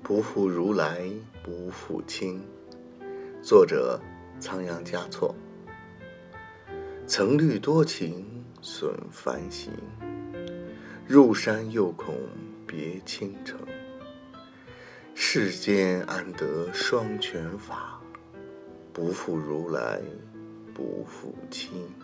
不负如来不负卿。作者仓央嘉措。曾虑多情损繁行，入山又恐别倾城。世间安得双全法，不负如来不负卿。